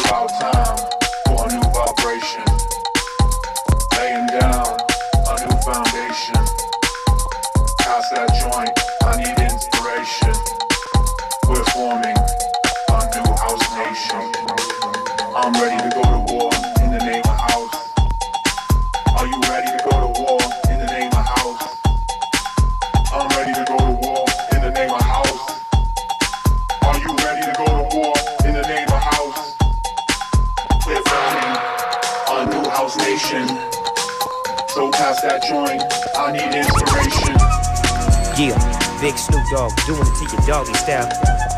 about time for a new vibration. Laying down a new foundation. Pass that joint, I need inspiration. We're forming a new house nation. I'm ready to go to war in the name of house. Are you ready to go to war in the name of house? I'm ready to go to war in the name of house. Are you ready to go to war in the name of house? We're forming a new house nation. So pass that joint, I need inspiration. Yeah, Big Snoop Dogg doing it to your doggy style.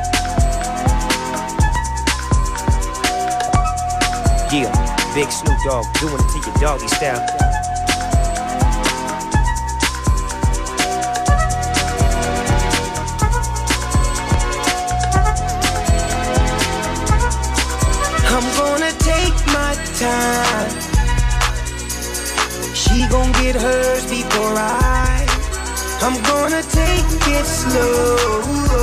Yeah, Big Snoop Dogg doing it to your doggy style. I'm gonna take my time. She gon' get hers before I'm gonna take it slow.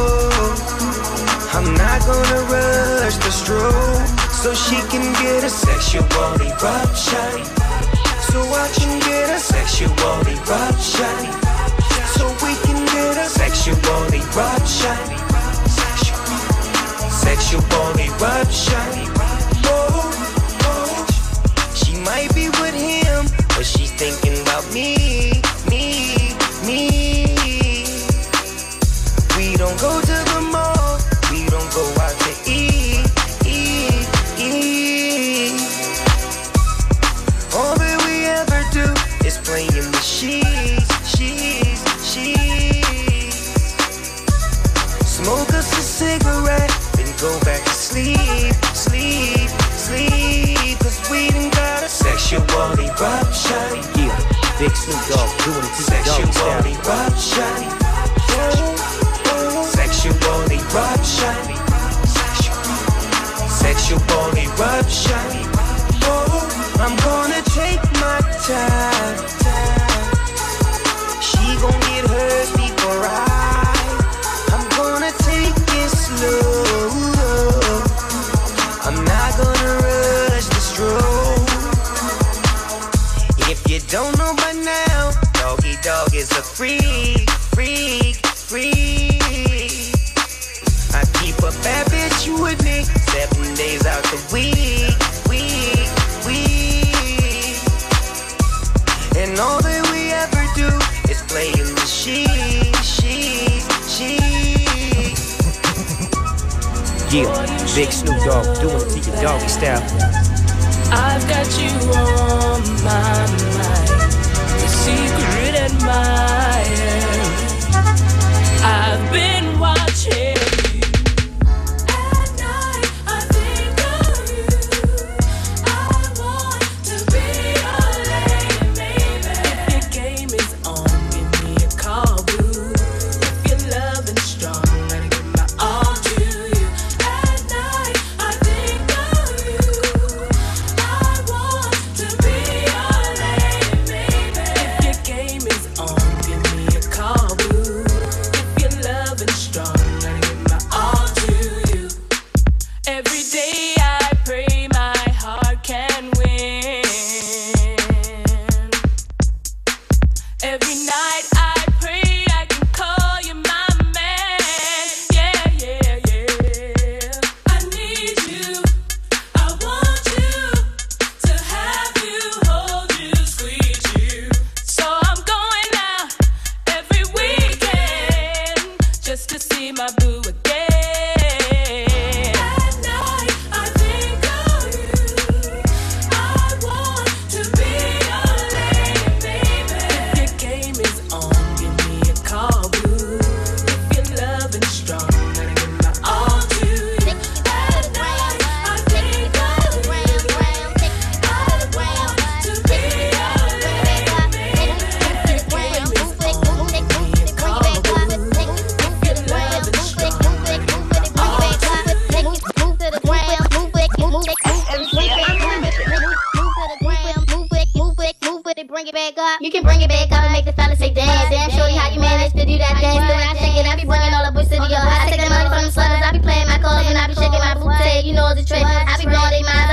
I'm not gonna rush the stroke, so she can get a sexual eruption. So I can get a sexual eruption. So we can get a sexual eruption. Sexual eruption. Oh, oh. She might be with him, but she's thinking about me. We don't go to the mall, we don't go out to eat. All that we ever do is play in the sheets. Smoke us a cigarette, then go back to sleep. Cause we done got a sexual eruption. Yeah, Big Snoop Dogg doing it to your doggy style. Sexual eruption. Sexual eruption. Oh, I'm gonna take my time. She gon' get hers before I'm gonna take it slow. I'm not gonna rush the stroke. If you don't know by now, Doggy Dogg is a freak. I keep a bad bitch with me 7 days out the week. And all that we ever do is play in the sheets. Yeah, Big Snoop Dogg doing it to your doggy style. I've got you on my mind, the secret admirer. I've been watching. You can bring it back up and make the fellas say damn. Damn, shorty, how you manage to do that dance? The way I shake it, I be bringing all the boys to the yard. I take the money from the slutters, I be playing my cards and I be shaking my booty. You know it's a trick. I be blowing they mind.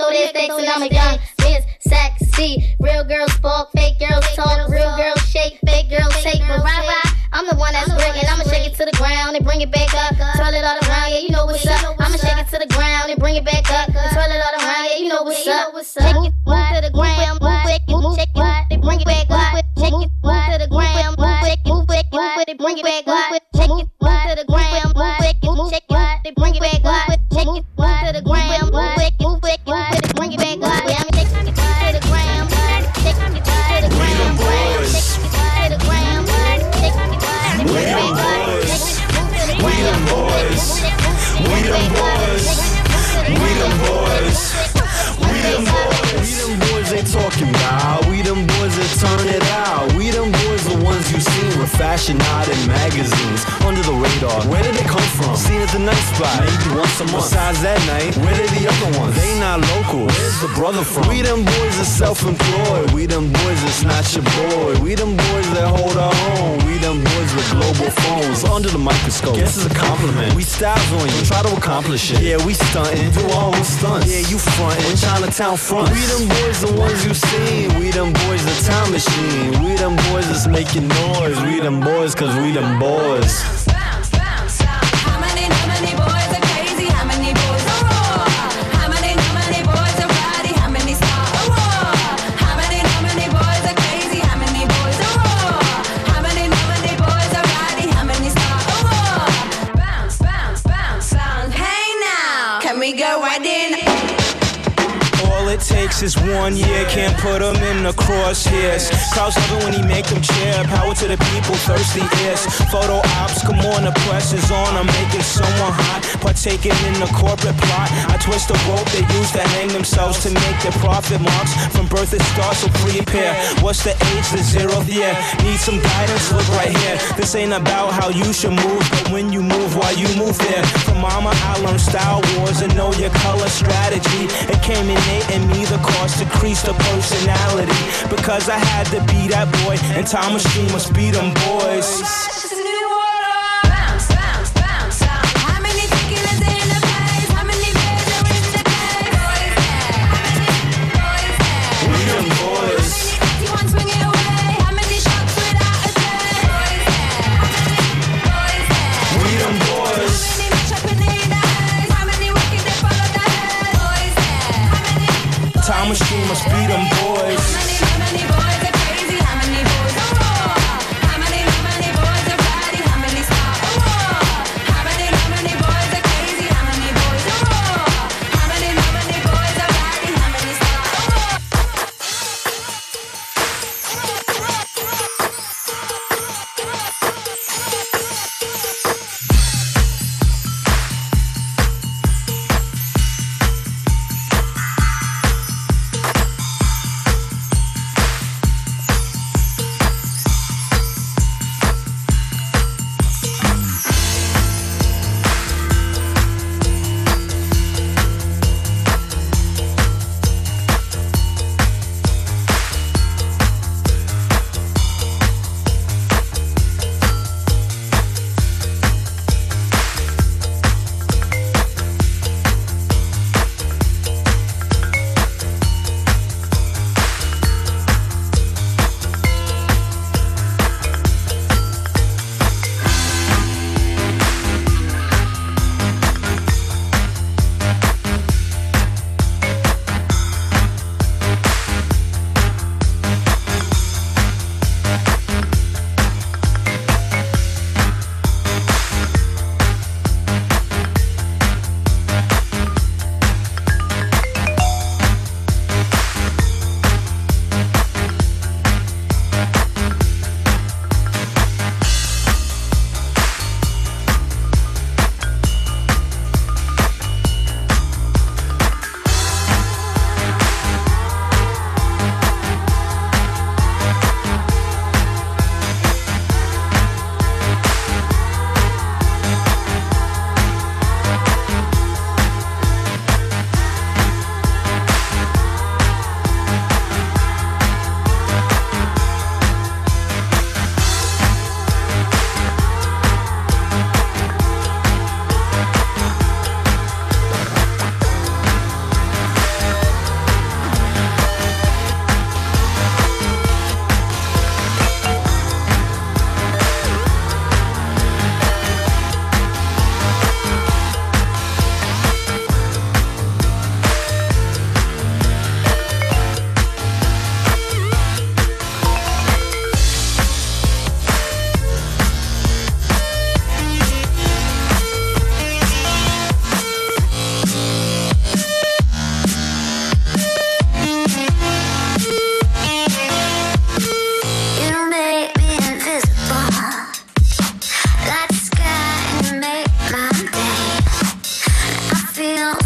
throw their stakes and I'm a young Miss Sexy. Real girls spark, fake girls talk, real girls shake, fake girls take. But rah, I'm the one that's breaking. I'ma shake it to the ground and bring it back up. Twirl it all around, yeah, you know what's up. I'ma shake it to the ground and bring it back up. Twirl it all around, yeah, you know what's up. Shake it, move to the ground, move it, shake it, they bring it back up. Shake it, move to the ground, move it, they bring it back up. Shake it, move to the ground, move it, shake it, they bring it back up. Shake it, move to the ground, move it, they bring it back up. Yeah, I'm shaking it to the ground, shaking it to the ground, shaking it to the ground, shaking it to the ground. We them boys, we them boys, we them boys, we them boys. We them boys they talking about. We them boys that turn it out. We them boys the ones you seen with fashion out in magazines. Under the radar, where did they come from? Seen at the night spot, maybe once a month. Besides that night, where did the other ones? They not local, where's the brother from? We them boys that's self-employed. We them boys that's not your boy. We them boys that hold our own. We them boys with global phones. Under the microscope, guess it's a compliment. We styles on you, try to accomplish it. Yeah, we stuntin', do our own stunts. Yeah, you frontin', when Chinatown front. We them boys the ones you seen. We them boys the time machine. We them boys that's making noise. We them boys cause we them boys. How many boys are crazy? How many boys are raw? How many boys are rowdy? How many start a war? How many boys are crazy? How many boys are raw? How many boys are rowdy? How many start a war? Bounce, bounce, bounce, bounce. Hey now, can we go right in? All it takes is 1 year, can't put them in the crosshairs. Crowds love it when he make them cheer. Power to the people, thirsty ears. Photo ops, come on, the press is on. I'm making someone hot, partaking in the corporate plot. I twist the rope they use to hang themselves to make their profit marks. From birth it starts, so prepare. What's the age? The 0th year. Need some guidance? Look right here. This ain't about how you should move, but when you move, why you move there. From mama, I learned style wars and know your color strategy. It came innate in me, the cost decreased the personality. Because I had to be that boy, and Time Machine must be them boys. Bounce, bounce, bounce, bounce. How many tequilas in the place? How many beers are in the case? Boys there. How many boys there? We them boys. How many 81 swinging away? How many shots without a day? Boys there. How many boys there? We them boys. How many match up in the eyes? How many walking they follow the head? Boys there. How many Time Machine must be them boys. How many boys are crazy? How many boys are raw? How many boys are rowdy? How many start a war? How many boys are crazy? How many boys are raw? How many boys are rowdy? How many start a war?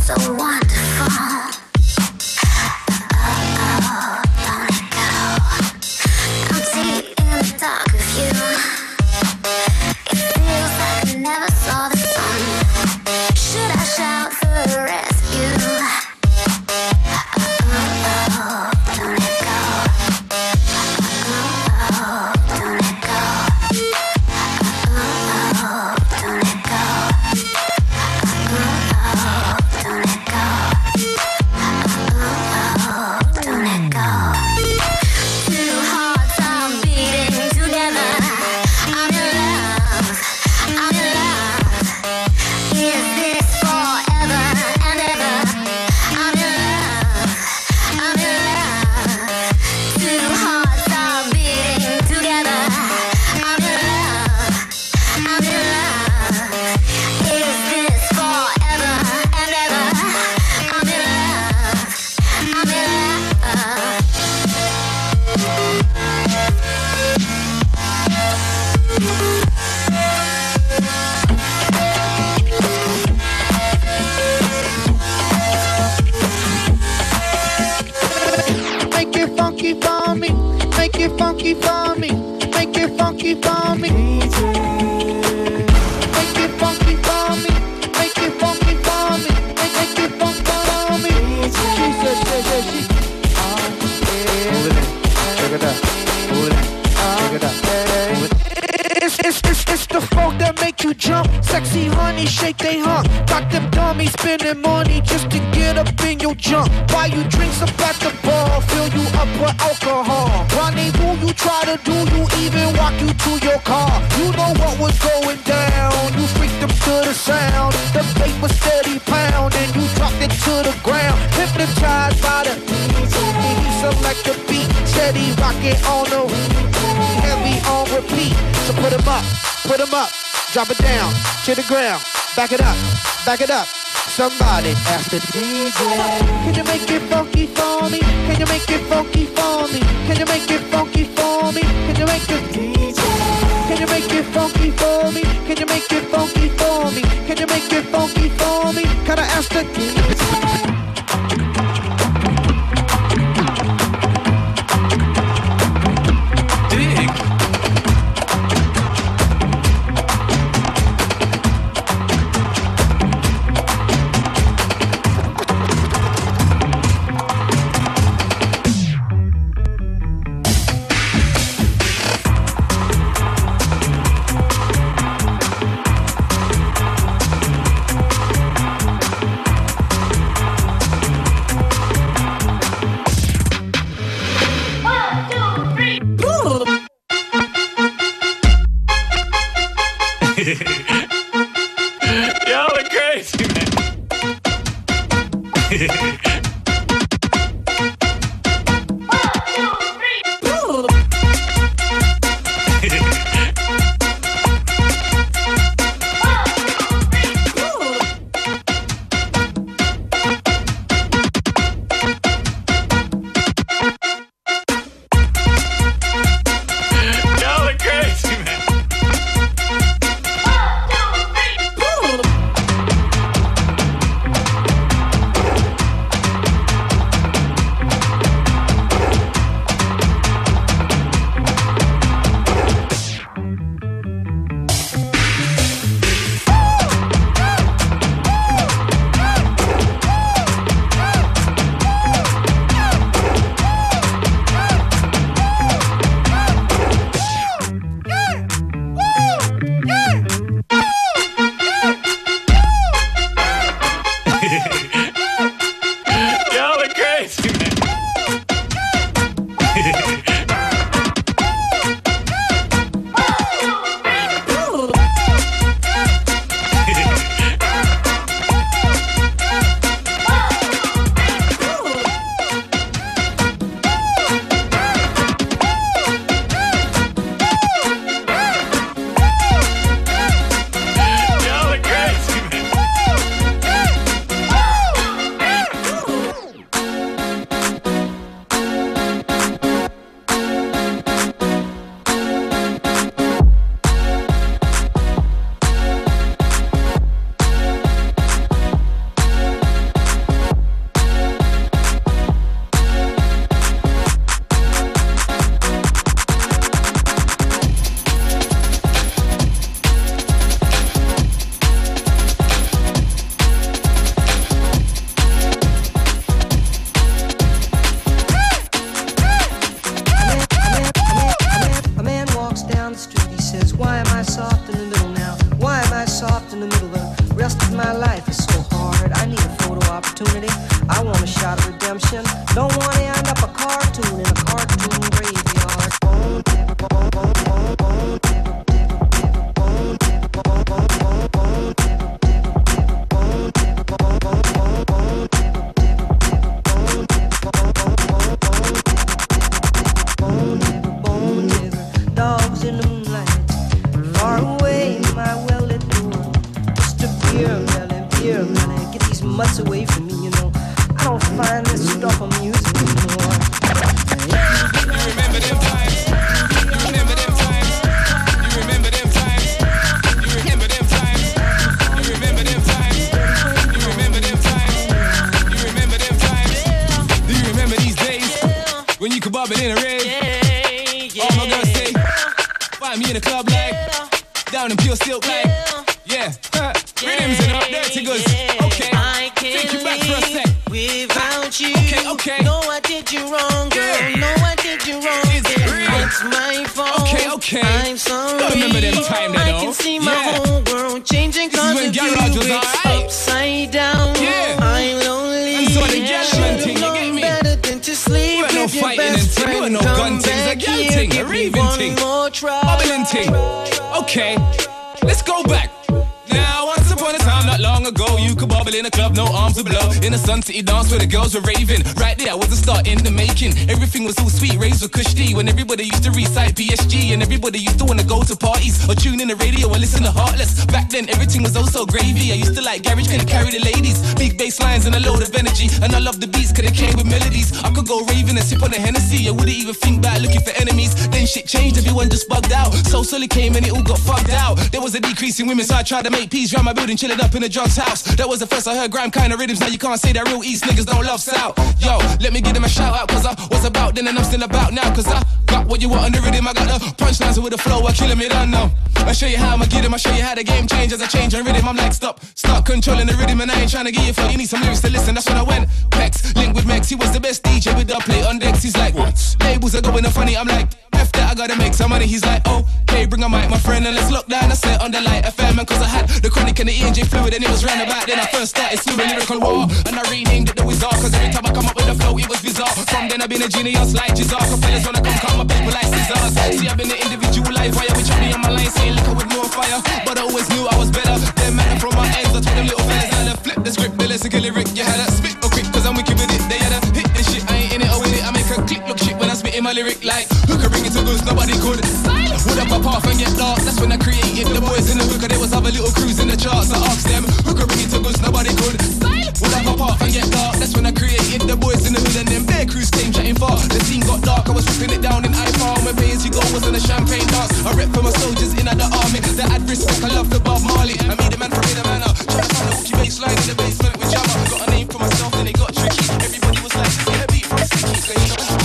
so wonderful. Don't let go. I'm deep in the dark of you. It feels like I never saw the sun. Should I shout for rescue? Don't let go. Don't let go. Don't let go. Don't let go. Don't let go. Two hearts are beating together. I'm in love. I'm in love. Is this forever and ever? I'm in love. I'm in love. Two hearts are beating together. I'm in love. I'm in love. Is this forever and ever? I'm in love. I'm in love. Make it funky for me. Make it funky for me. Make it funky for me. Make it funky for me. Make it funky for me. Make it funky for me. She said, she. Move it in. Check it out. Move it in. Check it out. It's the funk that make you jump. Sexy honey, shake they hump. Got them dummies spending money just to get up in your junk. Buy you drinks up at the bar, fill you up with alcohol. Rendezvous, you try to do, you even walk you to your car. You know what was going down. You freaked them to the sound. The bass was steady pound, and you dropped it to the ground. Hypnotized by the he select the beat, steady rocking on the heavy on repeat. So put 'em up, drop it down to the ground, back it up, somebody ask the DJ. Can you make it funky for me? Can you make it funky for me? Can you make it funky for me? Can you make it DJ? Can you make it funky for me? Can you make it funky for me? Can you make it funky for me? Can I ask the DJ? Y'all are crazy, man. my life is so hard. I need a photo opportunity. I want a shot of redemption. Don't want to end up a cartoon in a cartoon graveyard. Bone digger, bone, bone, bone, bone digger, digger, digger, bone digger, bone, bone, bone, bone digger, digger, digger, bone digger, bone, bone, bone, bone digger, digger, digger, bone digger, bone, bone, bone, bone digger, bone digger, dogs in the moonlight. Far away, my well-lit door. Just a beer melon, get these mutts away from me, you know. I don't find this stuff amusing anymore. You remember them times? You remember them times? You remember them times? You remember them times? You remember them times? You remember them times? You remember them times? Do you remember these days when you could bob it in a rave? All my girls say, find me in a club like down in pure silk like, yeah, rhythms in the dirty goods. Okay, take you back for a sec. Without you, okay. No, I did you wrong, girl. Yeah. No, I did you wrong. It's my fault. Okay. I'm sorry. Don't remember them time, I can see my whole world changing cause of you. It's upside down. Yeah. I'm lonely. And so the gentleman thing, you get me? Better than to sleep with no your fighting best and friend. thing, no gun things, a gal thing, a raving thing, bubbling thing. Okay, let's go back. Now, once upon a time, not long ago, you could bubble in a club, no arms to blow. In a Sun City dance where the girls were raving. Right there was the start in the making. Everything was all sweet, raves were cush tea. When everybody used to recite PSG. And everybody used to want to go to parties or tune in the radio and listen to Heartless. Back then, everything was also gravy. I used to like garage, couldn't carry the ladies. Big bass lines and a load of energy. And I love the beats, cause they came with melodies. I could go raving and sip on the Hennessy. I wouldn't even think about looking for enemies. Then shit changed, everyone just bugged out. So Sully came and it all got fucked out. There was a decrease in women, so I tried to make peace around my building, chilling up in the drugs house. That was the first I heard grime kind of rhythms. Now you can't say that real East niggas don't love South. Yo, let me give them a shout out, cause I was about then and I'm still about now. Cause I got what you want on the rhythm. I got the punchlines with the flow, I killing me done now. I show you how I'ma get them, I show you how the game change as I change on rhythm. I'm like, stop controlling the rhythm and I ain't trying to get you flow. You need some lyrics to listen, that's when I went. Pex, link with Mex, he was the best DJ with the play on decks. He's like, what? Labels are going funny, I'm like, F that, I gotta make some money. He's like, oh, hey, bring a mic, my friend, and let's lock down a set on the Light FM. And cause I had the Chronic and the E&J Fluid, and it was roundabout. Then I first started spewing lyrical war, and I renamed it the Wizard, cause every time I come up with a flow, it was bizarre. From then I've been a genius like Jizar, cause fellas wanna come cut my people like scissors. See, I've been an individual live wire, which I be on my line saying liquor with more fire. But I always knew I was better. Them matter from my ends, I told them little fellas, now they flip the script, the lexical lyric. You had to spit or quick, cause I'm wicked with it. They had to hit this shit, I ain't in it or with it. I make a click look shit when I spit in my lyric like who could bring it to goods, nobody could. Would I pop off and get dark? That's when I created the boys in the hook, and there was other little crews in the charts. I asked them who could bring it to goods, nobody could. Would I pop off and get dark? That's when I created the boys in the hood, and then bare crews came chatting far. The scene got dark, I was ripping it down in iPhone. When pay as you go was on a champagne dance. I rep for my soldiers in the army that had respect. I love the Bob Marley. I made a man for the manner. Trying to find a hooky bass line in the basement with Jammer. Got a name for myself, then it got tricky. Everybody was like, just get a beat from Sticky. So you know.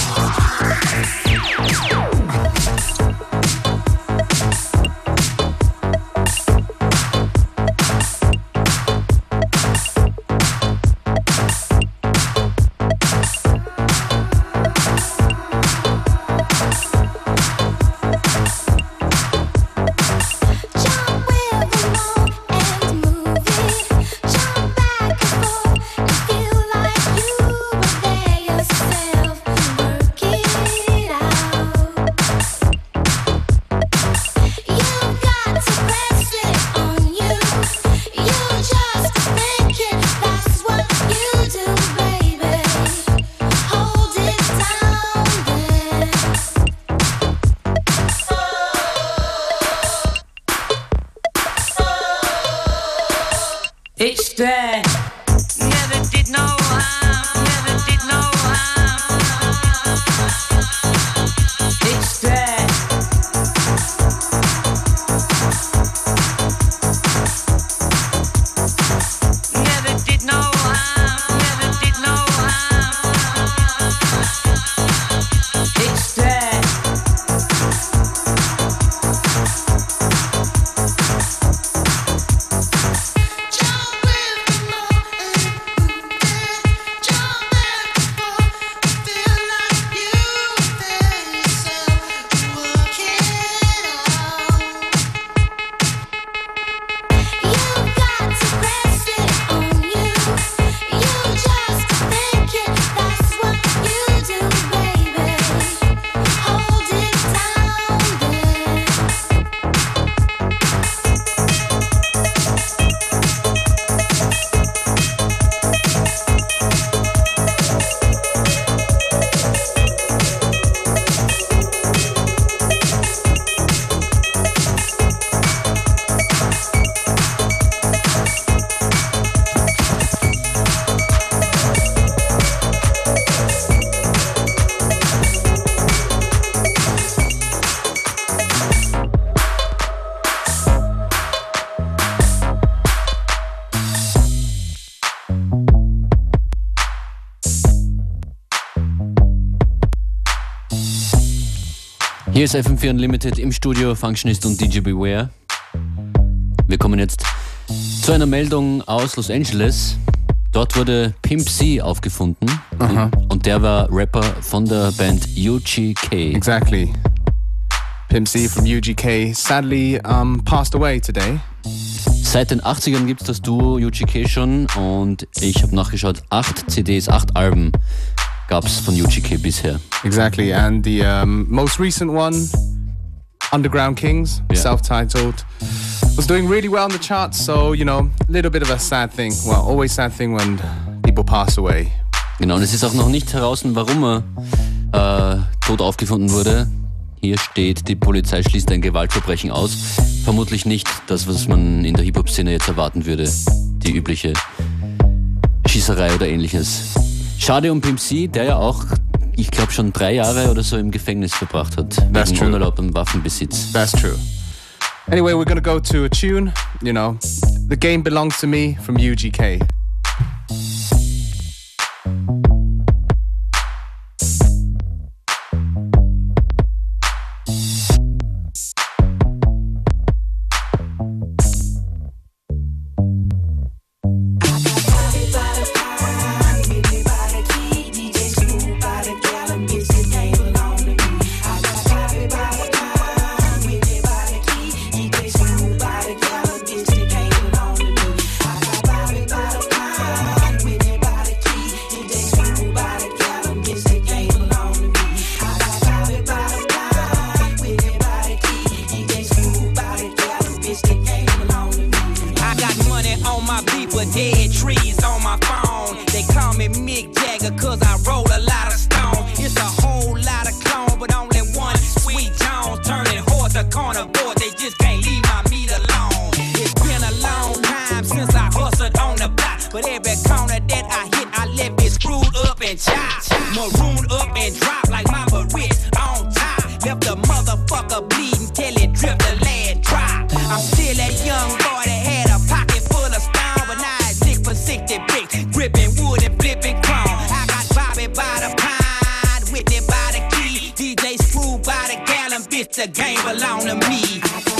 It's there. Never did no harm. Never did no harm. It's there. Never did no harm. Never did no harm. It's there. Hier ist FM4 Unlimited im Studio, Functionist und DJ Beware. Wir kommen jetzt zu einer Meldung aus Los Angeles. Dort wurde Pimp C aufgefunden. Und der war Rapper von der Band UGK. Exactly. Pimp C from UGK sadly passed away today. Seit den 80ern gibt es das Duo UGK schon und ich habe nachgeschaut, 8 CDs, 8 Alben gab es von UGK bisher. Exactly, and the most recent one, Underground Kings, self-titled, was doing really well in the charts, so, you know, a little bit of a sad thing. Well, always sad thing when people pass away. Genau, und es ist auch noch nicht heraus, warum er tot aufgefunden wurde. Hier steht, die Polizei schließt ein Gewaltverbrechen aus. Vermutlich nicht das, was man in der Hip-Hop-Szene jetzt erwarten würde. Die übliche Schießerei oder ähnliches. Schade um Pimp C, der ja auch, ich glaube, schon 3 Jahre oder so im Gefängnis verbracht hat. That's wegen unerlaubtem Waffenbesitz. That's true. Anyway, we're gonna go to a tune, you know, The Game Belongs to Me from UGK. The game belong to me.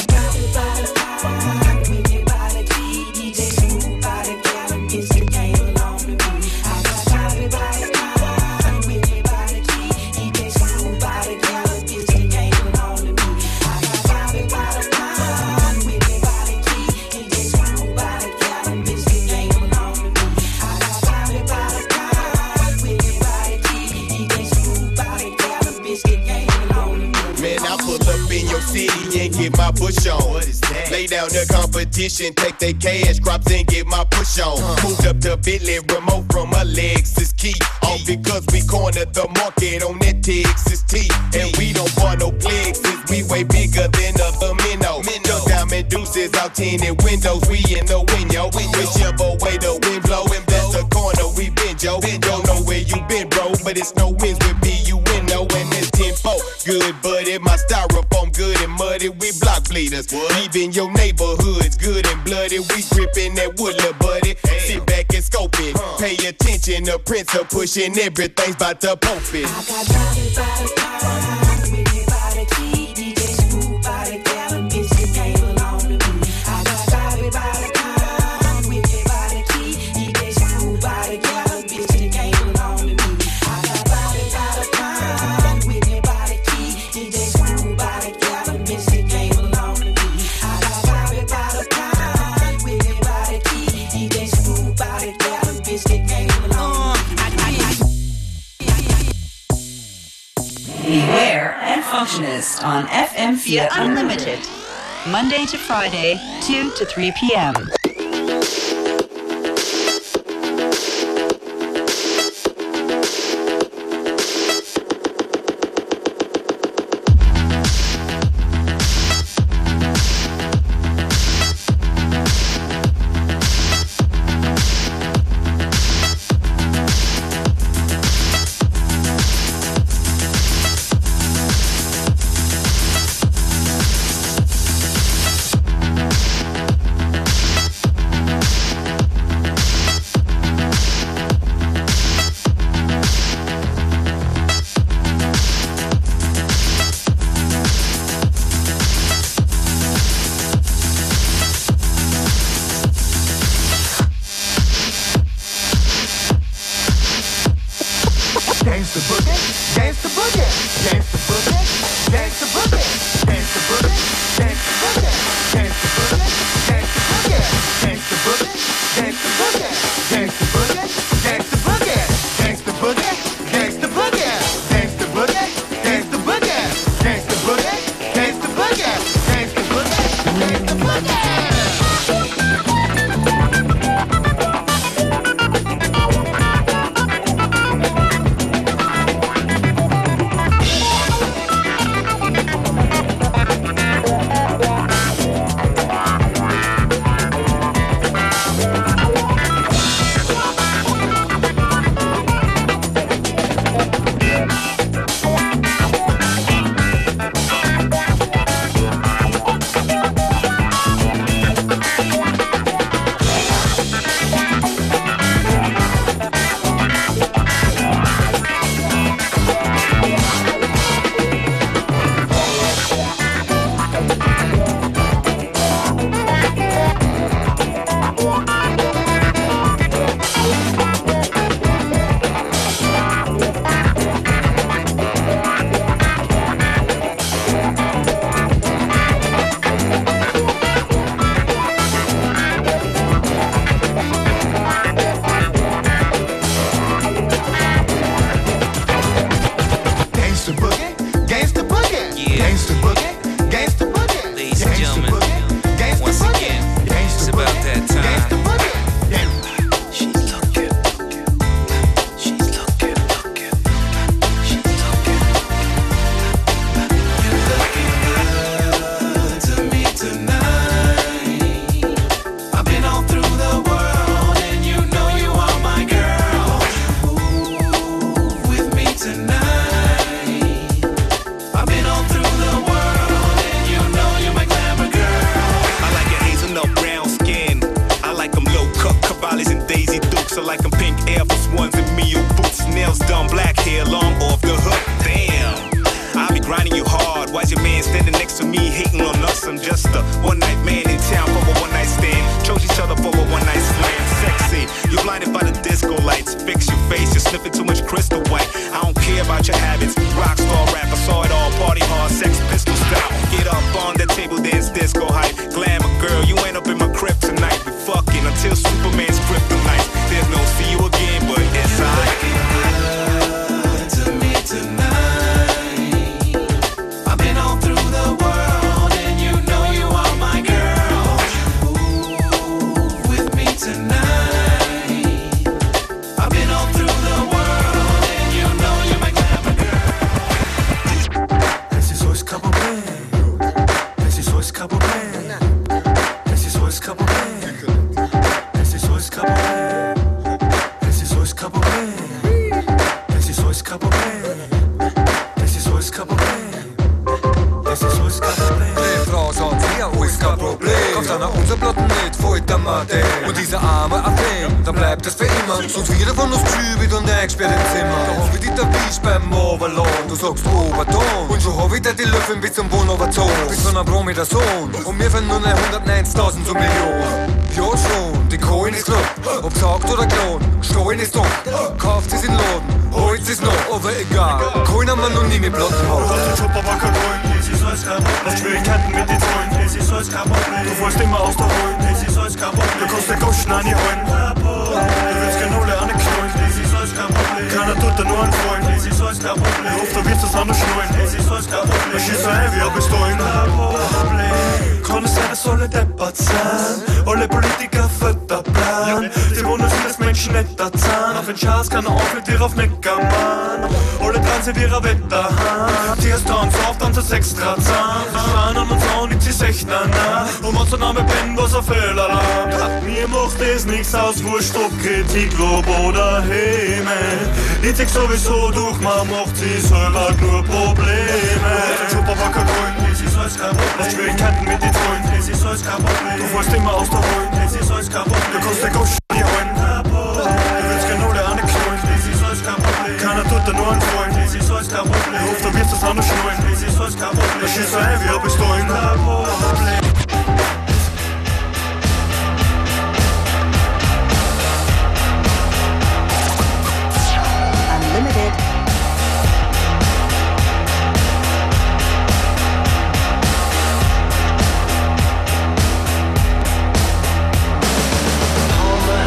Get my push on. Lay down the competition, take their cash crops and get my push on. Moved up to Bentley, remote from a Lexus key. All because we cornered the market on that Texas T. And we don't want no plexus, we way bigger than other minnow. The diamond deuces out tinted windows, we in the window. Whichever way the wind blow, and that's the corner we been, Joe. Don't know where you been, bro, but it's no wins with me, you win, no, and it's 10-4. Good, but in my styrofoam, good and muddy, we block bleeders. Leaving your neighborhoods good and bloody, we gripping that wood, little buddy. Sit back and scope it, pay attention, the prince of pushing, everything's about to pump it. I got body by the pound, with it by the key, DJ Smooth by the gallon, bitch, the game belong to me. I got body by the pound, with it by the key, DJ Smooth by the gallon, bitch, the game belong to me. I got body by the pound, with it by the key, DJ Smooth by the gallon, bitch, the game belong to me. I got body by the pound, with it by the key, DJ Smooth by the gallon, bitch, the game belong to me. Beware and Functionist on FM4 Unlimited. Monday to Friday, 2 to 3 p.m. Gangsta boogie, gangsta boogie, gangsta boogie, gangsta boogie, gangsta boogie, gangsta boogie, gangsta boogie, gangsta boogie, gangsta boogie, gangsta boogie. Aus Wurscht, ob Kritik, Lob oder Häme. Die zieht sowieso durch, man macht sie selber nur Probleme. Super wacker Grün, das ist alles kein Problem. Hast Schwierigkeiten mit den Freunden, das ist alles kein Problem. Du fällst immer aus der Holen, das ist alles kein Problem. Du kannst den Gosch nicht holen, du willst genau der eine knallen, das ist alles kein Problem. Keiner tut dir nur einen Freund, das ist alles kein Problem. Du hoffst, du wirst das anders schnallen, das ist alles kein Problem. Das ist so heavy, aber bist du ein Problem. All my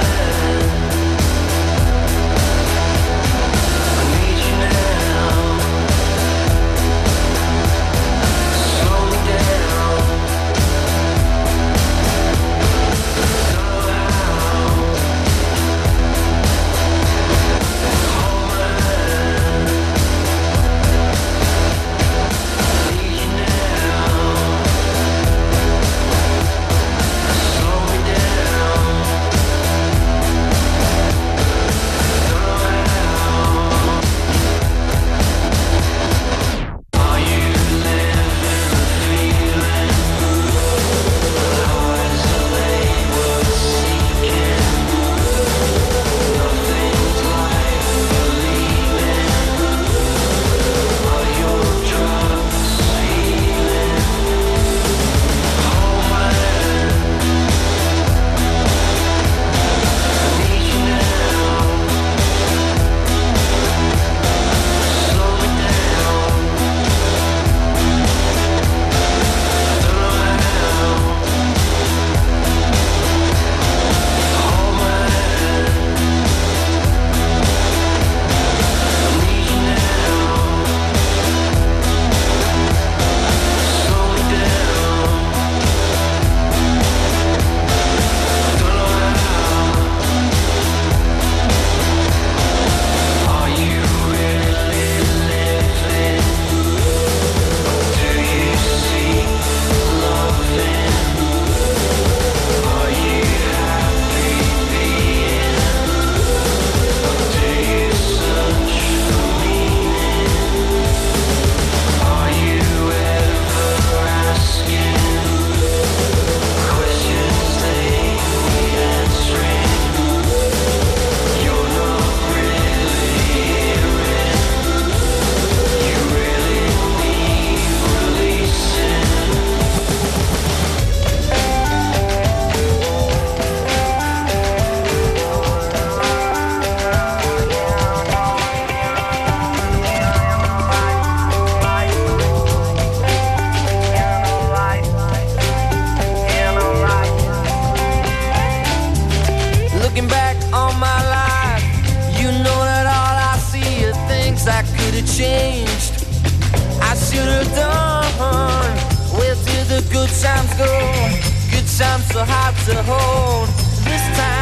Looking back on my life, you know that all I see are things I could have changed. I should have done. Where did the good times go? Good times so hard to hold. This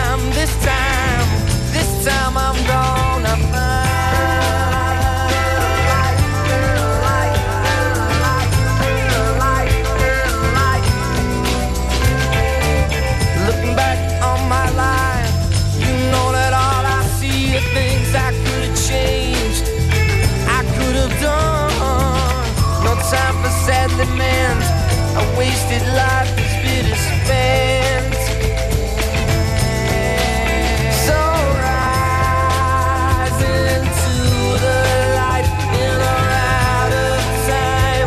time I'm gonna Looking back on my life, you know that all I see are things I could have changed. I could have done. No time for sad lament. A wasted life is bitter spent. So rise into the light in or out of time.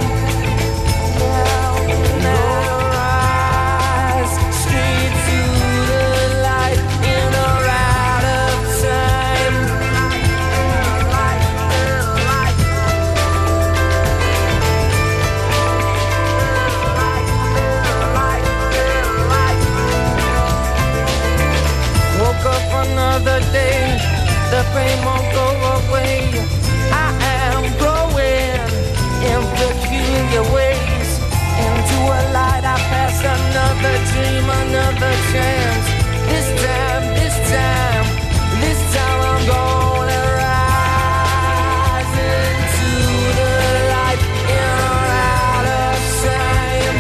Now rise straight to the light in or out of time. Woke up another day, the pain won't go away. I am growing in peculiar ways. Into a light I pass another dream, another chance. This time I'm gonna rise into the light in or out of time.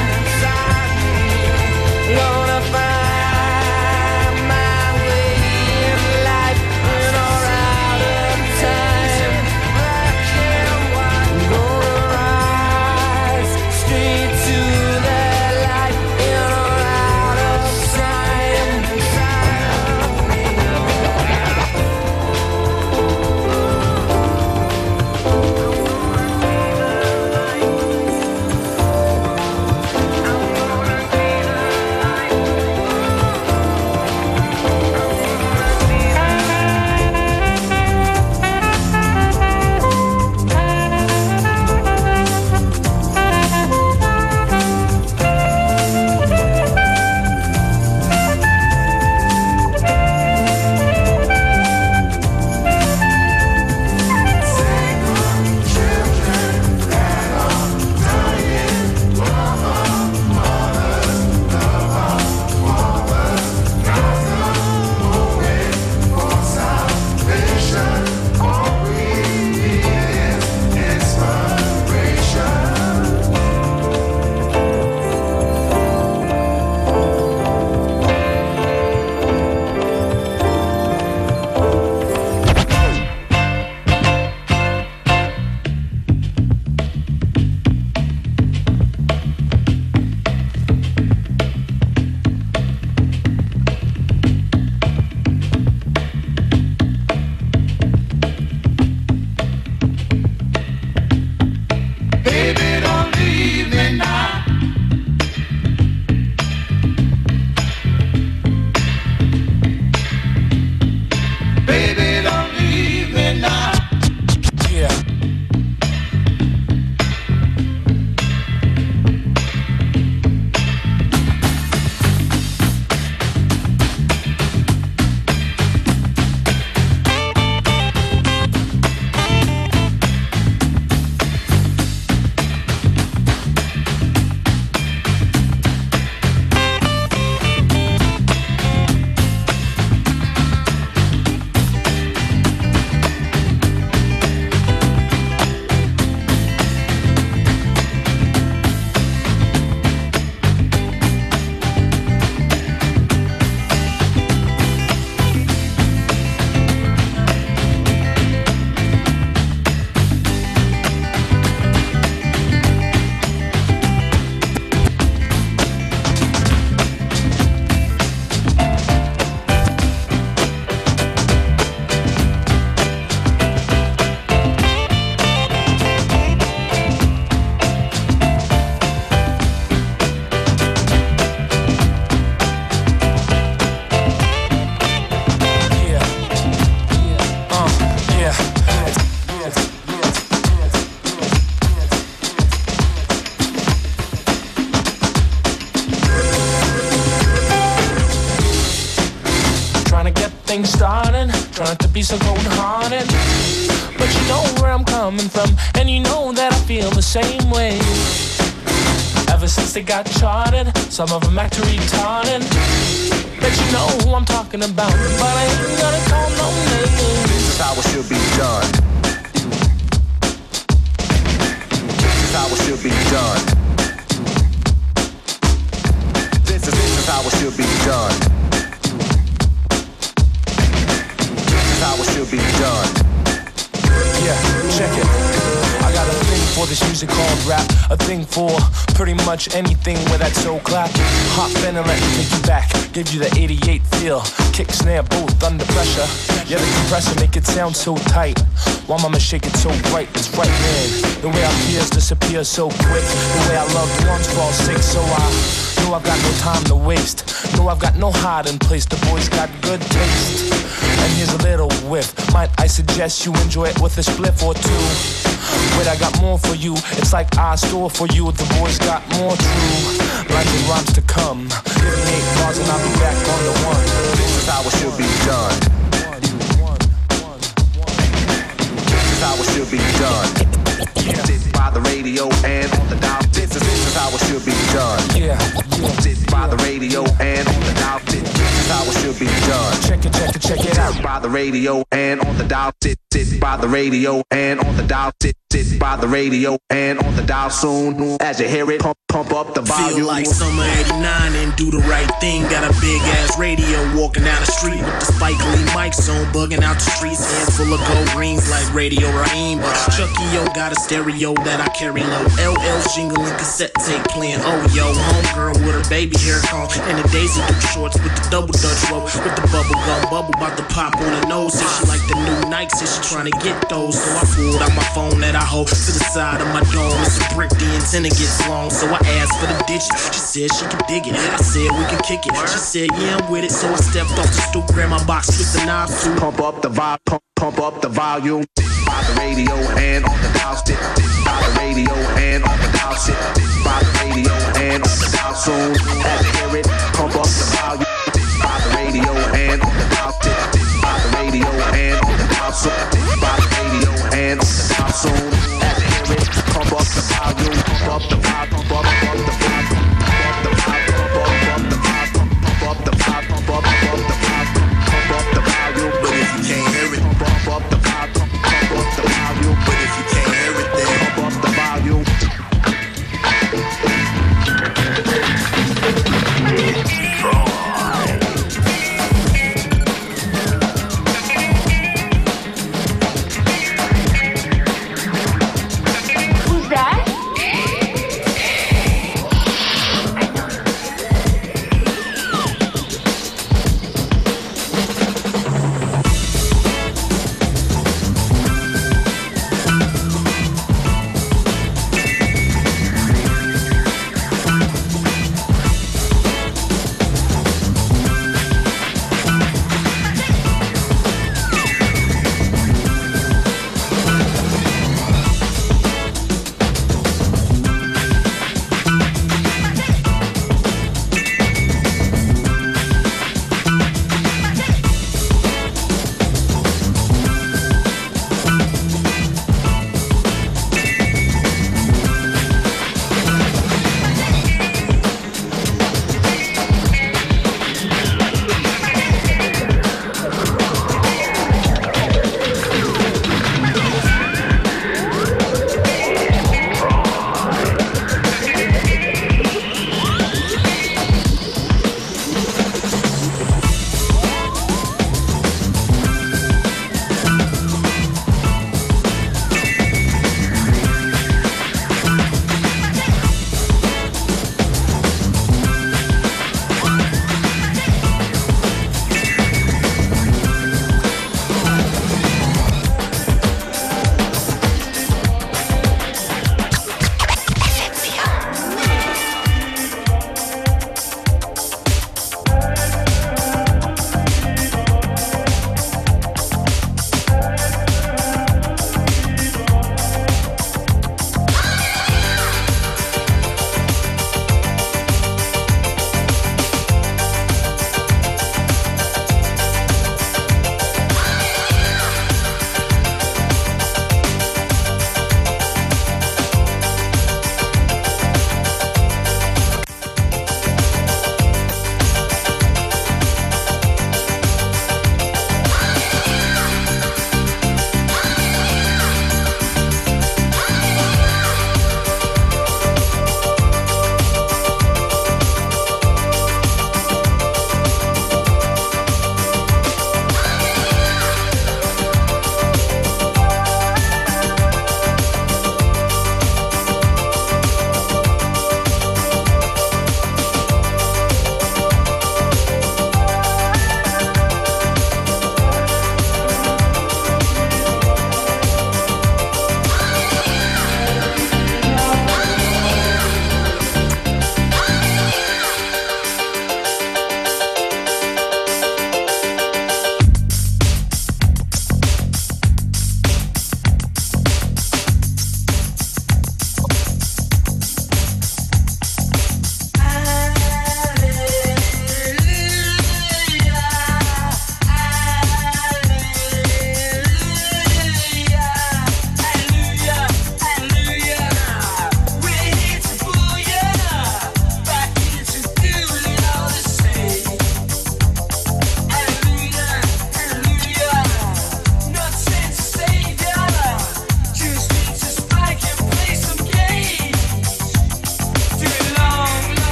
Gonna find my way in life in or out of time. Gonna rise straight to the light in or out of time. things starting. Trying not to be so cold-hearted, but you know where I'm coming from, and you know that I feel the same way. Ever since they got charted, some of them act retarded. Bet you know who I'm talking about, but I ain't gonna call no names. This is how it should be done. This is how it should be done. This is how it should be done. This is how it should be done. Yeah, check it. I got a thing for this music called rap, a thing for pretty much anything where that soul clap. Hop in and let me take you back, give you the 88 feel, kick, snare, both under pressure. Yeah, the compressor make it sound so tight, while mama shake it so bright, it's right, man. The way our peers disappear so quick, the way our loved ones fall sick, so I know I've got no time to waste. No, I've got no hiding place, the boys got good taste. And here's a little whiff, might I suggest you enjoy it with a spliff or two. Wait, I got more for you, it's like I store for you, the boys got more true lines and rhymes to come. Give me 8 bars and I'll be back on the one. This is how it should be done. This is how it should be done. This by the radio and on the dial. This is how it should be done. Yeah. This by the radio and on the dial. This is how it should be done. Check it out. By the radio and on the dial. Sit by the radio and on the dial. Sit by the radio and on the dial soon. As you hear it, pump up the volume. Feel like summer '89 and do the right thing. Got a big ass radio walking down the street with the Spike Lee mics on, bugging out the streets. Hands full of gold rings like Radio Raheem. But Chucky O got a stereo that I carry low. LL's jingling, cassette tape playing. Oh yo, homegirl with her baby hair comb and the Daisy Duke shorts with the double Dutch rope with the bubble gum bubble about to pop on her nose. Said she like the new Nike, said she trying to get those. So I pulled out my phone that I hold to the side of my dome. It's a brick, the antenna gets long, so I asked for the digits. She said she can dig it. I said we can kick it. She said yeah, I'm with it. So I stepped off the stoop, grabbed my box, twist the knob to pump up the volume. By the radio and on the dial. By the radio and on the dial. By the radio and on the dial soon. As you hear it, pump up the volume. By the radio and on the dial. By the radio and on the dial soon. By the radio and on the dial soon. As you hear it, pump up the volume. Pump up the volume. Pump up the volume. Pump up the volume. Pump up the volume. Pump up the volume. Pump up the volume. But if you can't hear it, pump up the volume. Pump up the volume. But if you can't hear it, then pump up the volume.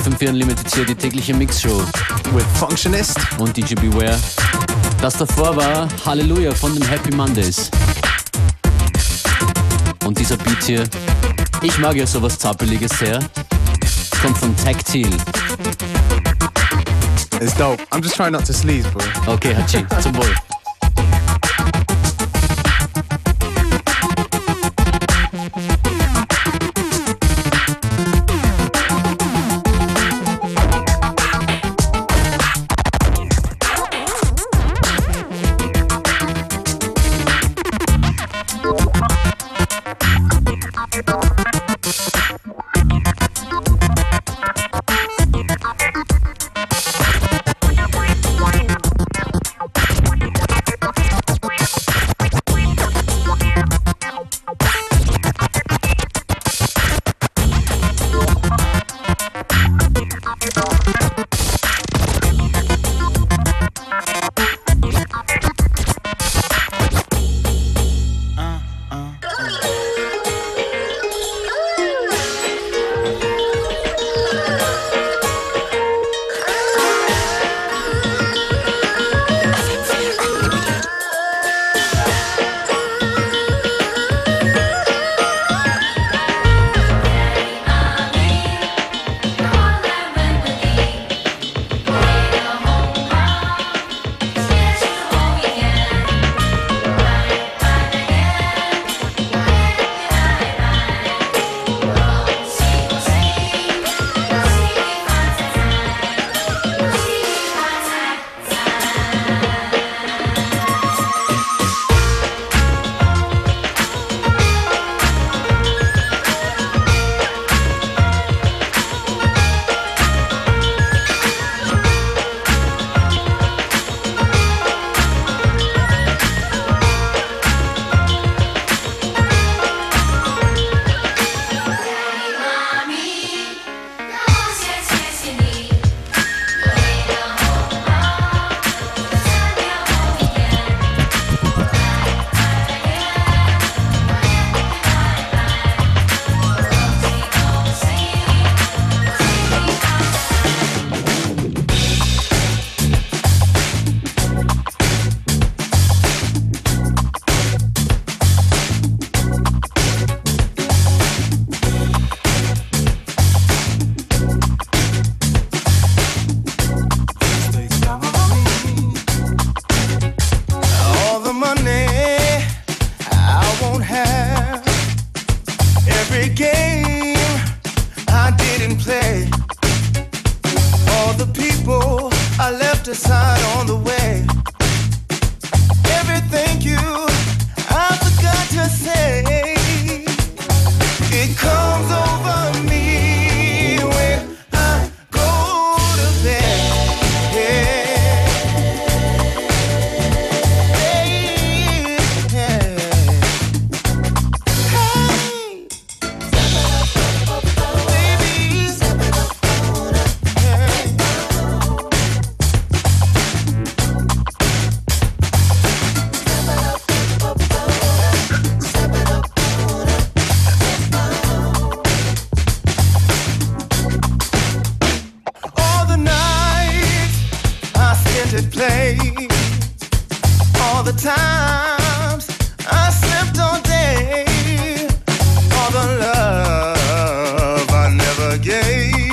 FM4 Unlimited hier, die tägliche Mixshow. With Functionist und DJ Beware. Das davor war Halleluja von den Happy Mondays. Und dieser Beat hier, ich mag ja sowas Zappeliges sehr, kommt von Tactile. It's dope. I'm just trying not to sneeze, bro. Okay, Hachi, zum Wohl. Aside on the way. Everything you I forgot to say. It comes over me when I go to bed. All the times I slept all day, all the love I never gave.